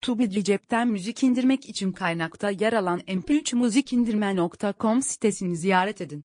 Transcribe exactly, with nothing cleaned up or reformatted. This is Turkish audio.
Tubi cepten müzik indirmek için kaynakta yer alan M P üç müzik indirme nokta com sitesini ziyaret edin.